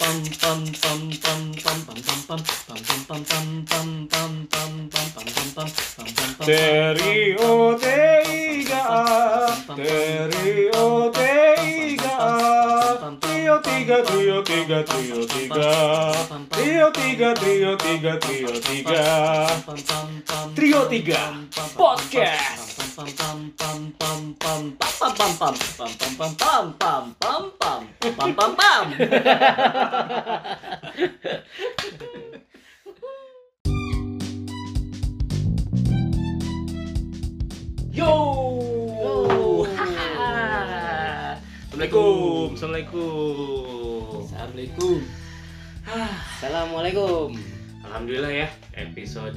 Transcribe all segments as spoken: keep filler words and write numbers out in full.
pam pam pam pam pam pam pam pam pam pam pam pam pam pam pam pam pam pam pam pam. Stereo tiga A, stereo tiga A, trio tiga, trio tiga, trio tiga, trio tiga, trio tiga, trio tiga, trio tiga podcast. Pam pam pam pam pam pam pam pam pam pam pam pam pam pam pam pam pam. Yo, Assalamualaikum, assalamualaikum. Assalamualaikum. Assalamualaikum. Alhamdulillah ya, episode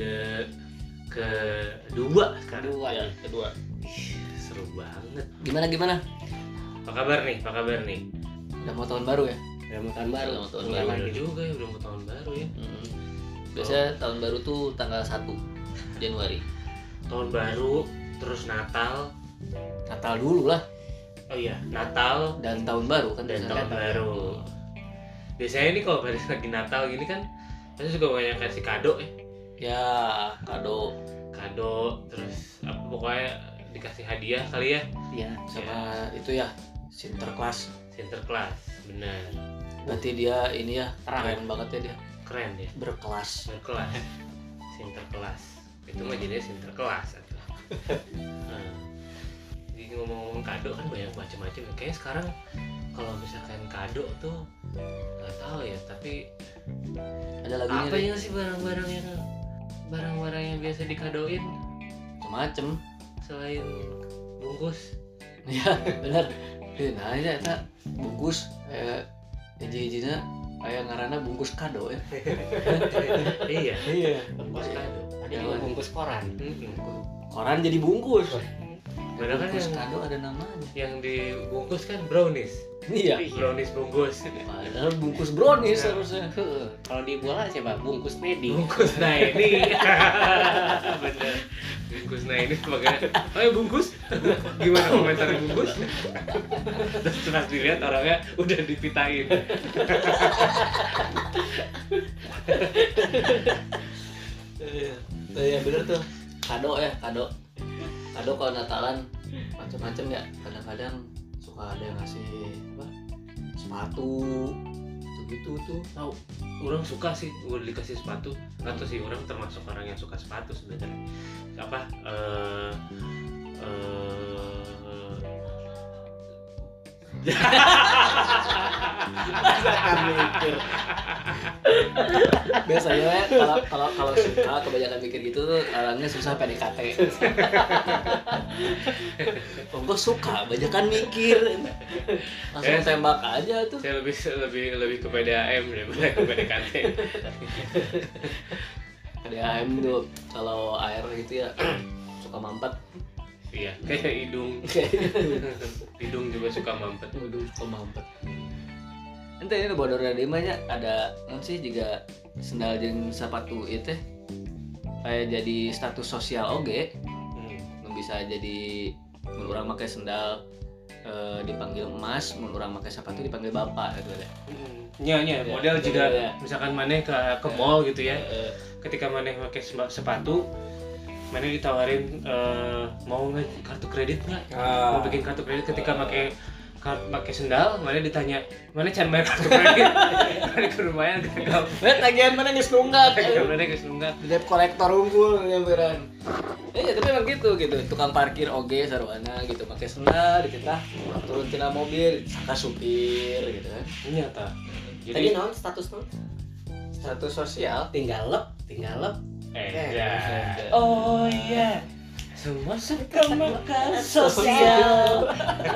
kedua sekarang. Kedua ya, kedua. Ih, seru banget. Gimana gimana? Apa kabar nih? Apa kabar nih? Udah mau tahun baru ya? Udah mau tahun baru. Udah mau tahun Udah baru. bener juga ya, udah mau tahun baru ya. Hmm. Biasanya tahun baru tuh tanggal satu Januari. Tahun baru, terus Natal. Natal dulu lah Oh iya, Natal dan tahun baru kan dan biasanya. tahun baru. Biasanya ini kalau pada lagi Natal gini kan, pasti juga banyak kasih kado ya. Ya, kado Kado, terus apa pokoknya dikasih hadiah kali ya. ya sama itu ya Sinterklas. Sinterklas, bener. Berarti dia ini ya Terang. keren banget ya dia, Keren ya. berkelas. Sinterklas. Sinterklas. Itu mah jadinya Sinterklas atau. Nah, jadi ngomong-ngomong kado kan banyak macam-macam. Kayaknya sekarang kalau misalkan kado tuh nggak tahu ya, tapi Ada lagunya apa deh, ya sih barang-barang yang barang-barang yang biasa dikadoin macem-macem. selain bungkus? Ya benar. Nah ini eta bungkus kayak hiji-hijina kayak ngaranna bungkus kado ya. Iya, Iya. bungkus kado. Ada juga bungkus koran. Mm-mm. Koran jadi bungkus. Padahal kan Bungkus yang, kado ada namanya. yang dibungkus kan brownies. Iya. Brownies bungkus. Padahal bungkus brownies Ya. harusnya. Heeh. Kalau di bola siapa? Bungkus Medi. Bungkus nah ini. Bener. Bungkus nah ini sebagai oh ya bungkus. Gimana komentar bungkus? Terus pas dilihat orangnya udah dipitain. Iya. Tuh ya bener tuh. Kado ya, kado. Kado kalau Natalan macam-macam ya. Kadang-kadang suka ada yang ngasih apa? Sepatu gitu tuh. Tahu, orang suka sih udah dikasih sepatu. Nggak tahu sih, orang termasuk orang yang suka sepatu sebenarnya. Apa? Eh eh Masakan mikir. Biasanya ya, kalau kalau kalau suka kebanyakan mikir gitu tuh orangnya susah P D K T. Oh, gue suka, banyakan mikir. Langsung Eh, tembak aja tuh. saya lebih lebih lebih ke P D A M daripada ke P D K T. P D A M tuh kalau air gitu ya suka mampet. Iya, kayak hidung. Hidung juga suka mampet. Waduh, suka mampet. Ente ini bodor dari mana ada non sih juga sendal jeung sepatu itu kayak jadi status sosial oge. Hmm. Nu bisa jadi mun urang make sendal eh, dipanggil emas, mun urang make sepatu dipanggil bapak gitu deh. Nya nya Ya, model ya, juga ya. misalkan maneh ke ke mall gitu ya. Eh, Ketika maneh pakai semba- sepatu, maneh ditawarin eh, mau nge- kartu kredit nggak? Mau bikin kartu kredit ketika pakai kar- pakai sendal, maneh ditanya, "Maneh can bayar kartu kredit?" Maneh kudu bayar gagal. Eh, tagihan mana geus nunggak. Maneh geus nunggak. Debt kolektor unggul nyamperan. Eh, ya, tapi emang gitu gitu. Tukang parkir oge sarwana gitu, pakai sendal dititah turun tina mobil, saka supir gitu kan. Ternyata. Tadi Jadi non status non? Status sosial. Tinggal lep, tinggal lep. eh, Eh, ya. eh. Oh iya. Semua suka makan sosial.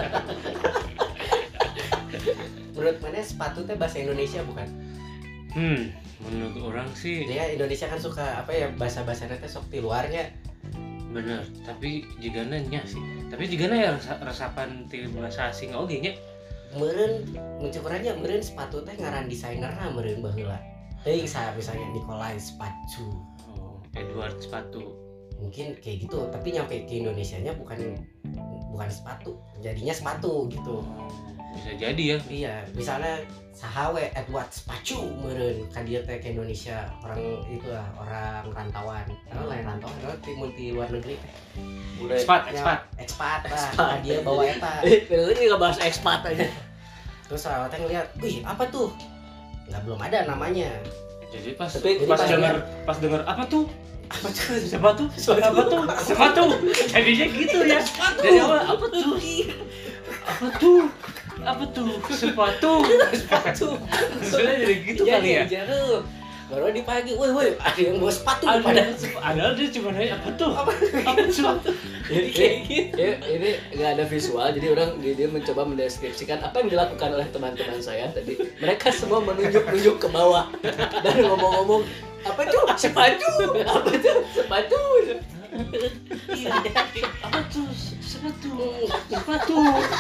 Menurut mana sepatu teh bahasa Indonesia bukan? Hmm, menurut orang sih Dia Indonesia kan suka apa ya bahasa-bahasanya teh sok di luarnya. bener, tapi jika nanya sih, tapi jika ya resa- resapan ti bahasa asing oge nya. Meureun mencukurannya meureun sepatu teh ngaran desainerna meureun baheula. Teuing sa misalnya Nikolai sepatu. Oh, Edward sepatu. Mungkin kayak gitu, tapi nyampe ke Indonesianya bukan bukan sepatu, jadinya sepatu gitu. Bisa jadi ya. Iya, misalnya sahawe Edward sepatu meureun ka dieu teh ke Indonesia, orang itu lah, orang rantauan. Karena lain rantauan, karena timur di luar negeri teh. Mulai Expat, Ya, expat. Expat lah, ka dia bawa eta. eh ini nggak bahas ekspat aja. Terus orang teh ngeliat, "Wih, apa tuh?" Enggak, belum ada namanya. Jadi pas Tapi pas jadi dengar pas dengar apa tuh? Apa tuh? Sepatu, apa tuh? Sepatu. Jadinya gitu ya. Dari awal apa tuh? Apa tuh? Apa tuh? Sepatu. Sepatu. Sudah jadi gitu Iya, kali ya. iya, iya. Baru di pagi, woi woi, ada yang bawa sepatu Ada pada. ada dia cuma nanya apa tuh? Apa? Apa tuh? Jadi kayak gitu. Ya, ini nggak ada visual, jadi orang dia, dia mencoba mendeskripsikan apa yang dilakukan oleh teman-teman saya tadi. Mereka semua menunjuk-nunjuk ke bawah dan ngomong-ngomong apa tuh sepatu, apa tuh sepatu. Iya, Apa tuh? Sepatu. Sepatu.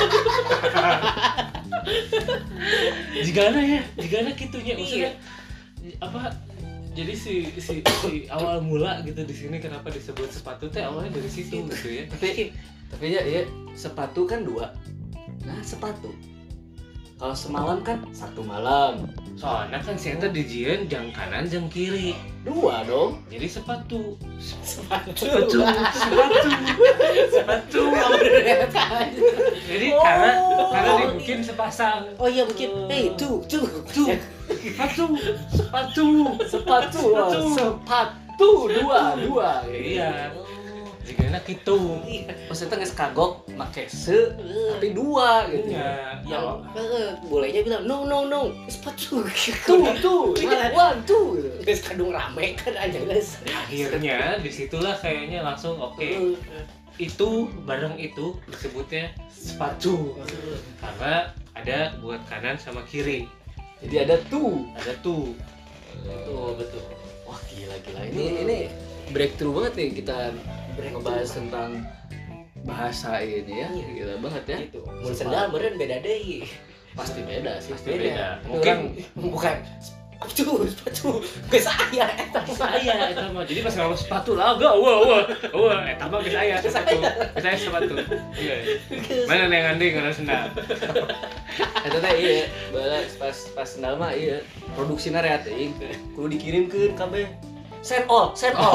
Jigana ya, jigana kitunya maksudnya apa? Jadi si si si awal mula gitu di sini kenapa disebut sepatu teh awalnya dari situ gitu ya. Tapi tapi ya, ya sepatu kan dua. Nah sepatu. Kalau semalam kan satu malam. Soalnya kan si eta dijieun jang kanan jang kiri. Dua dong. Jadi sepatu. sepatu. Sepatu. Sepatu. Sepatu. Jadi Oh. karena karena dibikin sepasang. Oh iya mungkin, hey tuh tuh Tuh. Sepatu. Sepatu. Sepatu. Sepatu. Sepatu dua dua. Iya. Jika enak gitu. Maksudnya nggak kagok make se tapi dua gitu. Iya. Yang Kalau- eh, bolehnya bilang no no no sepatu. Tuh tuh. One two. Guys kadung rame kan aja guys. akhirnya disitulah kayaknya langsung oke itu barang itu disebutnya sepatu karena ada buat kanan sama kiri, Jadi ada tuh. ada tuh. Betul betul. Wah gila gila ini ini breakthrough banget nih kita ngebahas tentang bahasa ini ya. Iya. Gila banget ya. Gitu. Mun sendal meureun beda deui. Pasti beda sih. Pasti beda. Tapi Mungkin orang bukan sepatu sepatu geus aya eta. saya eta mah jadi pas ngomong sepatu lah gak wah wah wah eta mah geus aya sepatu geus aya sepatu. Iya. Mana yang ngandeng kana sendal. Eta teh iya, bala pas pas sendal mah iya, produksina rea teuing. Kudu dikirimkeun kabeh. Send all, send all.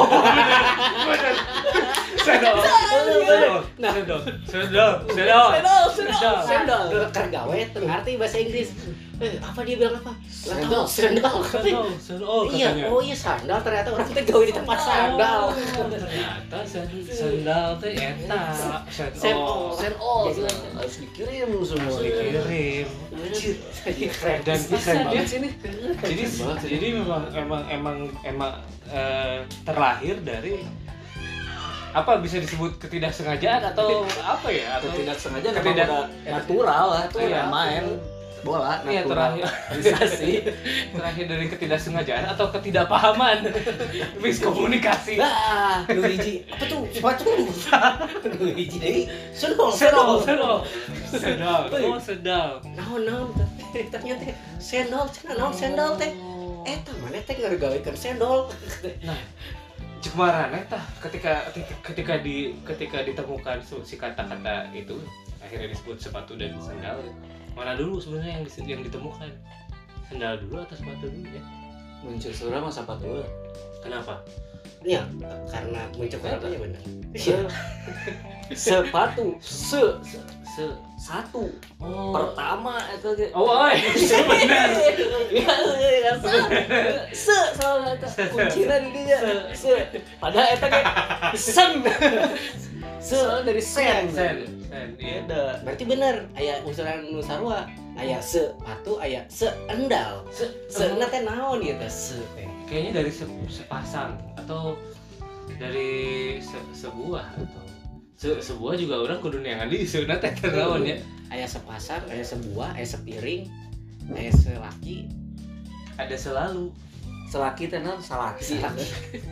Sendal. Sendal. Nah. Sendal. Sendal. Sendal. Sendal, sendal, sendal. Keur gawe teu ngarti bahasa Inggris. Eh, apa dia bilang apa? Nggak Sendal, tahu, sendal. Sendal. Sendal Iya, katanya. oh iya sandal ternyata orang teh gawe di tempat sandal. Ternyata sen- sendal teh eta. Send all. Send all. Jadi, Harus dikirim semua. Harus dikirim. Keren Dan bisa keren dia. banget sih ini. Jadi banget sih. jadi memang emang emang emang eh, terlahir dari apa bisa disebut ketidaksengajaan atau apa ya atau Tidak sengaja memang Ketidak- udah natural lah tuh Iya. main bola Iya, terakhir. naturalisasi. terakhir dari ketidaksengajaan atau ketidakpahaman miskomunikasi. Lah, nu hiji apa tuh? Sepatu. Nu hiji deui. Sendal, Sedal, sendal. sedal, sedal, oh sedal. Naon naon teh ternyata sendal cenah naon sendal teh. Eta mana teh ngaregawekeun sendal. Nah, cek marane tah ketika ketika di ketika ditemukan su- si kata-kata itu akhirnya disebut sepatu dan sendal. Mana dulu sebenarnya yang dis- yang ditemukan? Sendal dulu atau sepatu dulu ya? Muncul surah masa sepatu. Kenapa? Ya, karena muncul katanya bener. Se- sepatu se, se Se satu oh. pertama itu ge. Oh, oi. Benar. Ya, ya, se se soalnya eta kuncina di dinya se padahal eta ge sen se dari sen Sen, sen, iya. beda. Berarti bener, aya usulan nu sarua, aya sepatu, aya seendal. Se, Seena teh naon ieu teh se teh? kayaknya dari se, sepasang atau dari se, sebuah atau se, sebuah juga orang kudu neangan di seuna teh naon ya. Aya sepasang, aya sebuah, aya sepiring, aya selaki, Ada selalu. Selaki teh naon salaki. selaki.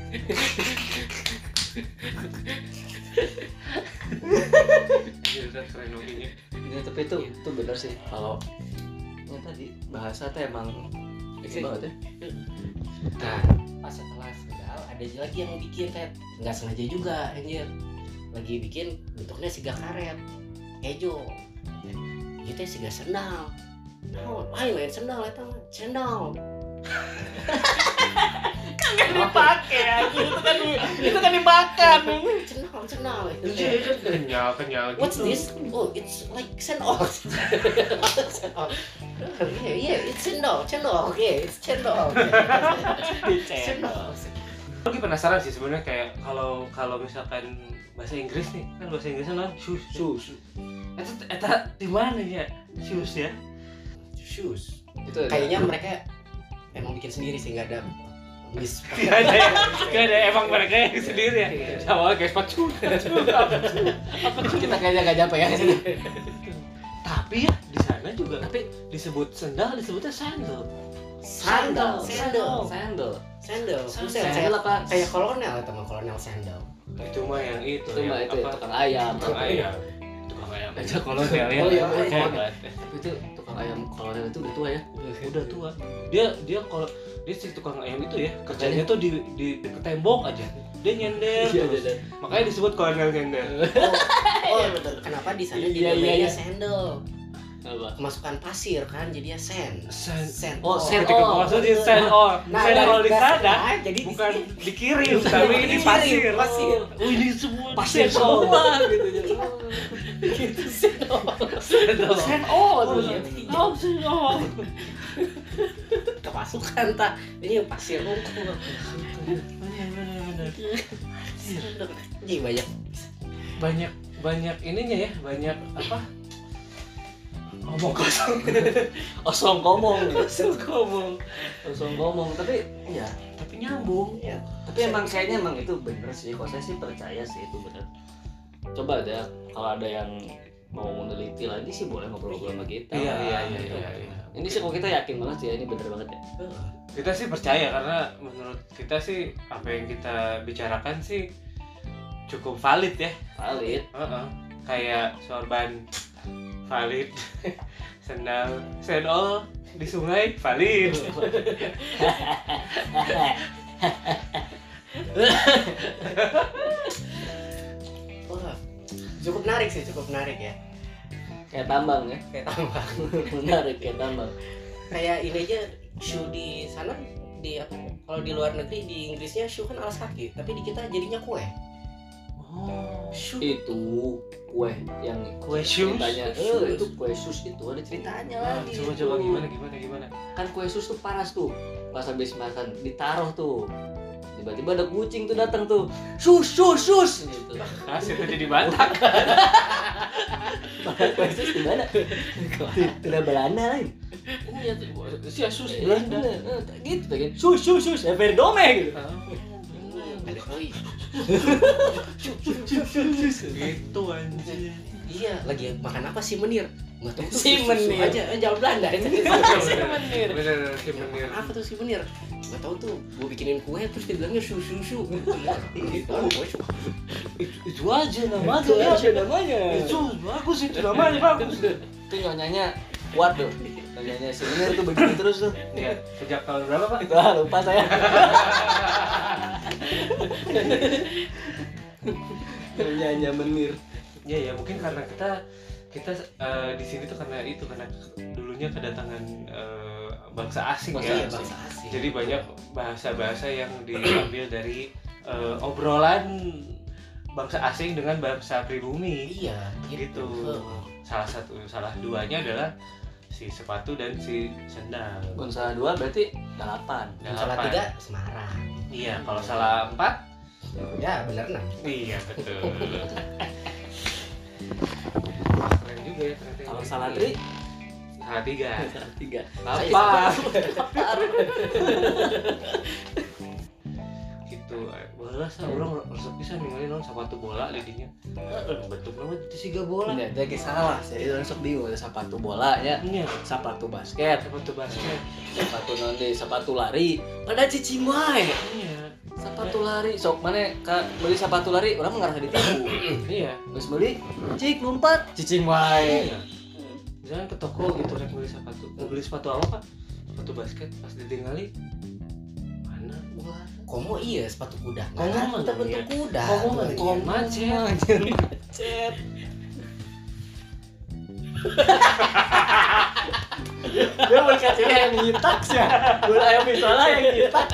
Gila keren opinya. Ya, tapi itu itu benar sih kalau yang tadi bahasa teh emang ini banget ya. Nah, pas setelah sendal ada lagi yang bikin teh nggak sengaja juga anjir. Lagi bikin bentuknya siga karet. Kejo. Ieu teh siga sendal. Naon? Ayo main sendal eta mah. Sendal. Kan dipakai anjing itu kan itu kan dimakan. Sendal, sendal. Kenyal kenyal gitu. What's this? Oh, it's like sendal. Sendal. Yeah, yeah, it's sendal, sendal. Okay, it's sendal. Sendal. Lagi penasaran sih sebenarnya kayak kalau kalau misalkan bahasa Inggris nih kan bahasa Inggrisnya kan shoes shoes. Eta eta di mana ya shoes ya? Shoes. Itu Kayaknya mereka emang bikin sendiri sih, nggak ada bis. Gak ada ya, gak ada emang mereka yang sendiri ya. Sama kayak sepatu. Apa kita kayaknya nggak nyampe ya sini. Tapi ya di sana juga tapi disebut sendal disebutnya sandal. Sandal, sandal, sandal. sandal. Sandal Sandal apa? Kayak kolonel teman kolonel sandal. Itu mah yang itu, Itu mah yang itu ya, apa? tukang ayam. Tukang ayam. Tukang ayam. Aja kolonel ya. Oh, iya, iya. Hebat. Tapi itu tukang ayam kolonel itu udah tua ya. Udah tua. Dia dia kalau dia si tukang ayam itu ya kerjanya tuh di di deket tembok aja. Dia nyender. Iya, terus. iya. Makanya disebut kolonel nyender. Oh, kenapa di sana Iya, dinamanya iya. sandal? Apa? Kemasukan pasir kan jadinya sand. Sand. Sand. Oh, sand. Ketika Oh. masuk di sand all. Nah, Sand dari- all di dari- sana nah, jadi di bukan sini. dikirim tapi ini Dikirim, pasir. pasir. Oh, ini semua Pasir sand all. semua gitu ya. Gitu sandal. Sand all. Sand all Oh, tuh. iya. Oh, sand all. Kemasukan tak. Ini pasir hukum. Benar benar benar. Sandal. Jadi banyak. Banyak banyak ininya ya, banyak apa? Ngomong kosong. Osong ngomong. Kosong ngomong. Osong ngomong. Tapi ya, Tapi nyambung. Ya. tapi emang kayaknya emang itu bener sih. Kok saya sih percaya sih itu bener. Coba deh kalau ada yang mau meneliti lagi sih boleh ngobrol-ngobrol sama kita. Iya iya iya Gitu. iya. iya. Ini sih kok kita yakin banget sih ya, ini bener banget ya. Kita sih percaya karena menurut kita sih apa yang kita bicarakan sih cukup valid ya. Valid. Heeh. Kayak sorban valid, sendal sandal di sungai valid. Wah, cukup menarik sih, cukup menarik ya. Kayak tambang ya. Kayak tambang. Menarik kayak tambang. Kayak ini aja shoe di sana di apa? Kalau di luar negeri di Inggrisnya shoe kan alas kaki, tapi di kita jadinya kue. Oh. Shoe. Itu kue yang Kue shoes? ceritanya. Shoes. Eh, itu kue sus itu ada ceritanya lagi. Coba itu. coba gimana gimana gimana. Kan kue sus tuh panas tuh. Pas habis makan ditaruh tuh. Tiba-tiba ada kucing tuh datang tuh. Sus sus sus gitu. Nah, situ jadi Batak. Makan kue sus gimana? Tidak Belanda lain. Iya tuh si Asus Belanda. Gitu pengen sus sus sus Everdome gitu. Ada koi. Gitu anjir. Iya, lagi makan apa sih Menir? Enggak tahu tuh. Si susu Menir. aja, eh, jawab Belanda. Si Menir. Bener si Menir. Apa tuh si Menir? Enggak tahu tuh, gua bikinin kue terus dia bilangnya susu susu. Gitu. Itu aja namanya. Itu aja namanya. Itu bagus itu namanya bagus. Itu nyonyanya kuat tuh. Nyonyanya si Menir tuh begini terus tuh. Ya, sejak tahun berapa Pak? Wah, lupa saya. Nyonyanya Menir. Ya ya mungkin karena kita kita eh, di sini tuh karena itu karena dulunya kedatangan eh, bangsa asing Bangsa ya. asing. Bangsa asing. Jadi banyak bahasa-bahasa yang diambil dari eh, obrolan bangsa asing dengan bangsa pribumi. Iya, Gitu. Salah satu salah duanya adalah si sepatu dan si sendal. Kalau salah dua berarti delapan. Yang salah Delapan. tiga Semarang. Iya, kalau salah empat, Ya, bener enam. iya betul. Keren juga ya ternyata. Kalau salah tri, salah tiga. salah tiga. Apa? Gitu. Bola sah orang resep pisan ningali naon sepatu bola di dinya. Heeh, bentuk nama itu siga bola. Enggak, dia salah. Jadi orang sok bingung ada sepatu bola ya, Iya, sepatu basket, sepatu basket. sepatu nanti sepatu lari. Pada cicing wae. Iya. Sepatu lari, sok mana ka beli sepatu lari orang ngerasa ditipu. Iya. Terus beli, cik numpat, cicing wae. Iya. Misalnya ke toko gitu rek beli sepatu. Mau beli sepatu apa, Pak? Sepatu basket pas ditinggali mana? Komo iya sepatu kuda. Komo Nah, mah kita bentuk iya. kuda. Komo mah Iya. komo macet. Macet. Kasih yang nyitak sih. Gula ayam misalnya yang nyitak.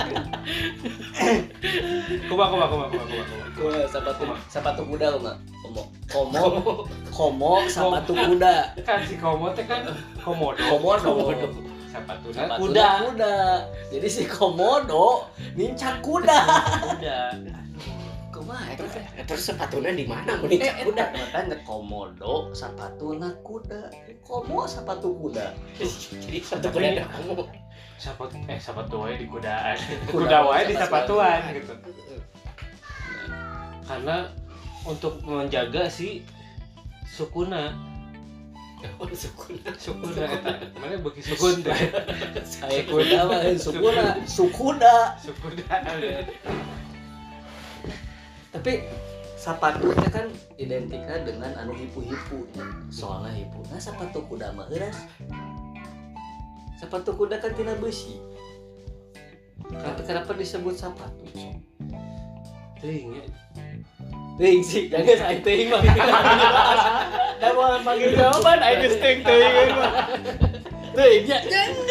Kumaha kumaha kumaha kumaha kumaha. Gua sepatu sepatu kuda mah. Komo. Komo. Komo sepatu kuda. Kan si komo teh kan komodo. Komodo. Sepatu Sepatu kuda. kuda. Jadi si komodo nincak kuda. Kuda. Kumaha eta teh? Terus sepatunya di mana mun nincak kuda? Makanya komodo sepatu kuda. Komo sepatu kuda. Jadi sepatu kuda ada kamu. Sepatu eh sepatu wae di kudaan. Kuda Kuda wae di sepatuan. sepatuan gitu. Karena untuk menjaga si sukuna. Oh, sukuna. Sukuna eta. Mana beuki sukun teh? Saya kuda mah sukuna, sukuda. Sukuna. Tapi sepatunya kan identiknya dengan anu hipu-hipu. Soalnya hipu. Nah sepatu kuda mah euras. Sepatu kuda kan tina besi. Tapi kenapa disebut sepatu? Teuing ya. Teuing sih, jangan saya teuing mah. Da mau panggil jawaban aing geus teuing teuing mah. Teuing ya.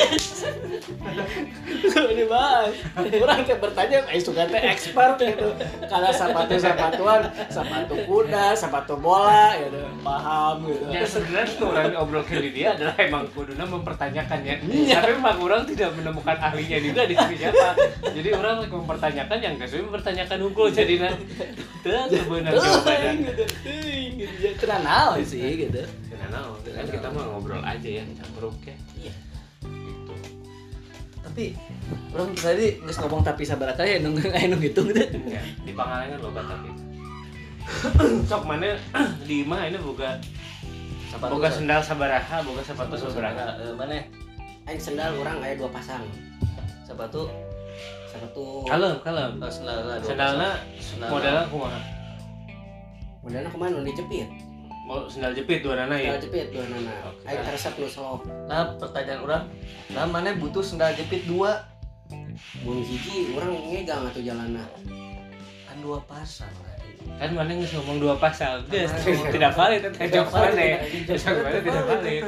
Ini bahas. Orang teh bertanya, aing suka teh expert gitu. Kalau sepatu-sepatuan, sepatu kuda, sepatu bola gitu. Paham gitu. Ya sebenarnya orang obrolkan di dia adalah emang kuduna mempertanyakannya. Tapi memang orang tidak menemukan ahlinya juga di sini siapa. Jadi orang mempertanyakan yang sesuai mempertanyakan hukum jadi nah. Teu benar jawabannya. Gitu. Teuing gitu. Ya tenan naon sih gitu. Kenapa? Kan kita mah ngobrol aja ya, campur ya. Iya. Gitu. Tapi orang tadi geus ngomong tapi sabaraha ya nu anu ngitung gitu. Ya, di Pangalengan loba tapi. Sok mana di imah ini boga Sepatu boga sendal sabaraha, boga sepatu sabaraha. Eh, mana? Aing sendal orang aya dua pasang. Sepatu Sepatu Kalem, kalem. oh, sendalna dua Sendalna Sendalna. modelnya kumaha? modelnya kemana nu dijepit. Mau sendal jepit dua nana ya. Sendal jepit dua nana. Oke. Aing resep nu selop. Nah, pertanyaan orang, nah mana butuh sendal jepit dua? Mun hiji urang ngegang atuh jalanna. Kan dua pasang. Kan mana geus ngomong dua pasang. Geus Mana? tidak valid eta Tidak jawaban valid, mana. tidak Jawabannya tidak valid.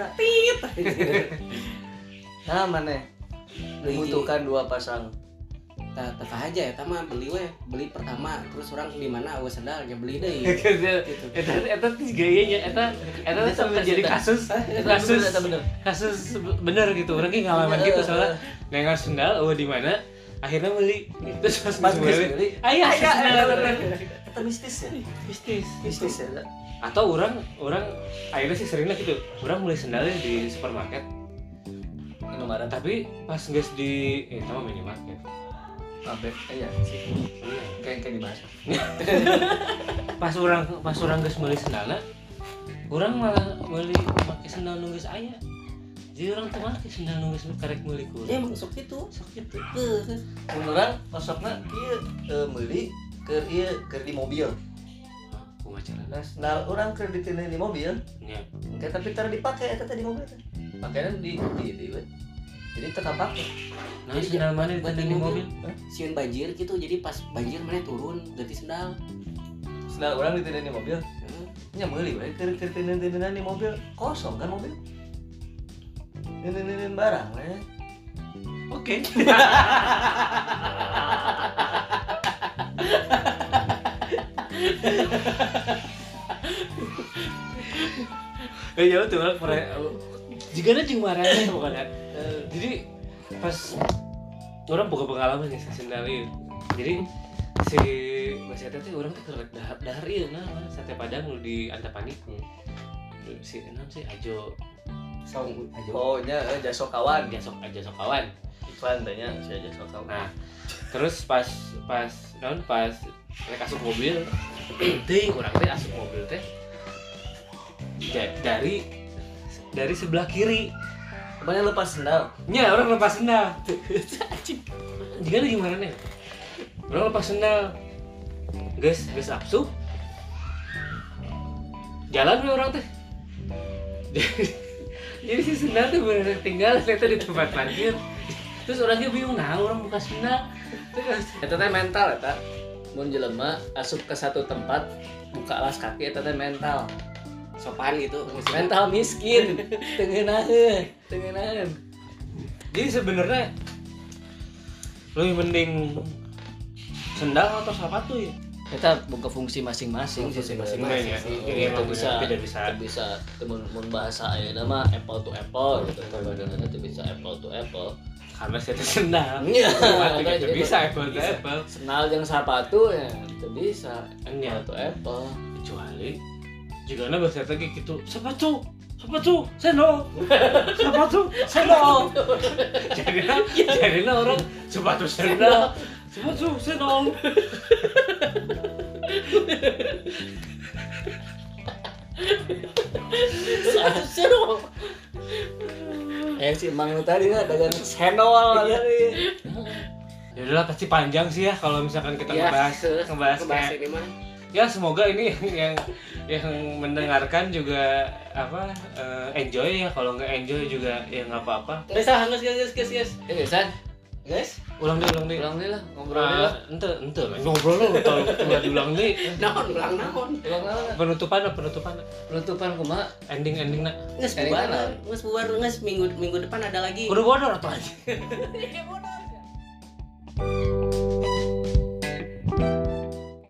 Nah, mana membutuhkan dua pasang. Tah tah aja eta mah beli we, beli pertama terus urang di mana aweus sendal ge beli deui. Gitu. Eta eta tiga nya eta eta Itu sampai jadi kasus kasus Itu bener. kasus bener gitu. Urang ge ngalaman Iya, gitu eh, soalnya eh. nengar sendal oh di mana akhirnya beli terus pas Pas beli geus beli. aya Aya, sendal aya, Eta mistis ya? mistis Mistis ya. Eta. atau orang orang akhirnya sih seringnya gitu orang beli sendalnya di supermarket Anu marah tapi pas geus di eh sama minimarket Abek, iya sih. Kayak kayak dibahas. pas orang pas orang geus meuli sendalna orang malah meuli make sendal nu geus aya jadi orang teu make sendal nu geus karek meuli ku Ya emang sok kitu. sok kitu Mun urang masokna ieu teu meuli keur ieu keur di mobil. kumaha carana Nah, sendal urang keur ditindih di mobil. nya Engke tapi teu dipake eta teh di mobil teh. Pakaian di di di we. Jadi teu kapake. nah Jadi sendal mana buat ditendang di mobil Sieun banjir gitu jadi pas banjir mana turun ganti sendal. Sendal urang ditindih di mobil. Heeh. Nya meuli we keur keur tindih-tindihan di mobil. Kosong kan mobil. Tindih-tindihan barang we. oke eh ya tuh orang pernah jika ada jeung marahnya bukan ya jadi pas orang boga pengalaman ya sendal ieu jadi si Mas Eta teh orang teh keur dahar dahar ieu nah sate padang nu di Antapani si enam sih Ajo Song aja. Oh nya eh, jaso kawan. dia sok aja sok kawan Iklan teh nya si jaso kawan. nah terus pas pas non pas rek asup mobil teuing urang teh asup mobil teh ja- dari dari sebelah kiri Kemana lepas sendal? nya orang lepas sendal jika ada gimana nih orang lepas sendal guys guys absup jalan we orang teh jadi si sendal tuh bener tinggal ternyata di tempat parkir terus orangnya bingung nah orang buka sendal terus Eta teh mental eta. Mun jelema asup ke satu tempat buka alas kaki eta teh mental. Sopan gitu. Mental miskin. Teu ngeunaheun, teu ngeunaheun. Jadi sebenarnya lebih mending sendal atau sepatu ya? Kita buka fungsi masing-masing sih Fungsi sebenarnya. ya. masing-masing. Jadi Kita emang bisa beda bisa. kita bisa temen mun bahasa ayeuna mah apple to apple gitu. Kadang-kadang itu bisa apple to apple. Karena saya tuh sendal. Iya, Sepatu makanya gitu jadi bisa apple to apple. Sendal yang sepatu ya itu bisa Enya. apple to apple. Kecuali jika anda bahasa lagi gitu sepatu sepatu sendal sepatu sendal jadinya jadinya orang sepatu sendal sepatu sendal Sepatu sendal. Eh si Mang lu tadi nggak dagang sendal tadi. ya udahlah pasti panjang sih ya kalau misalkan kita Ya, ngebahas ngebahas Kebahas kayak ini mah. ya semoga ini yang yang mendengarkan juga apa eh, enjoy ya kalau nggak enjoy juga ya nggak apa-apa Guys, ah, guys, guys, guys, guys. Eh San, Guys, ulang deh ulang deh ulang deh lah ngobrol deh lah. ente ente ngobrol lu kalau udah diulang deh naon ulang naon. Ulang lah. penutupan penutupan Penutupan kumaha? ending ending nak Nges Dari bubar, mana? nges bubar, nges minggu minggu depan ada lagi. udah bodor atau aja Bodoh.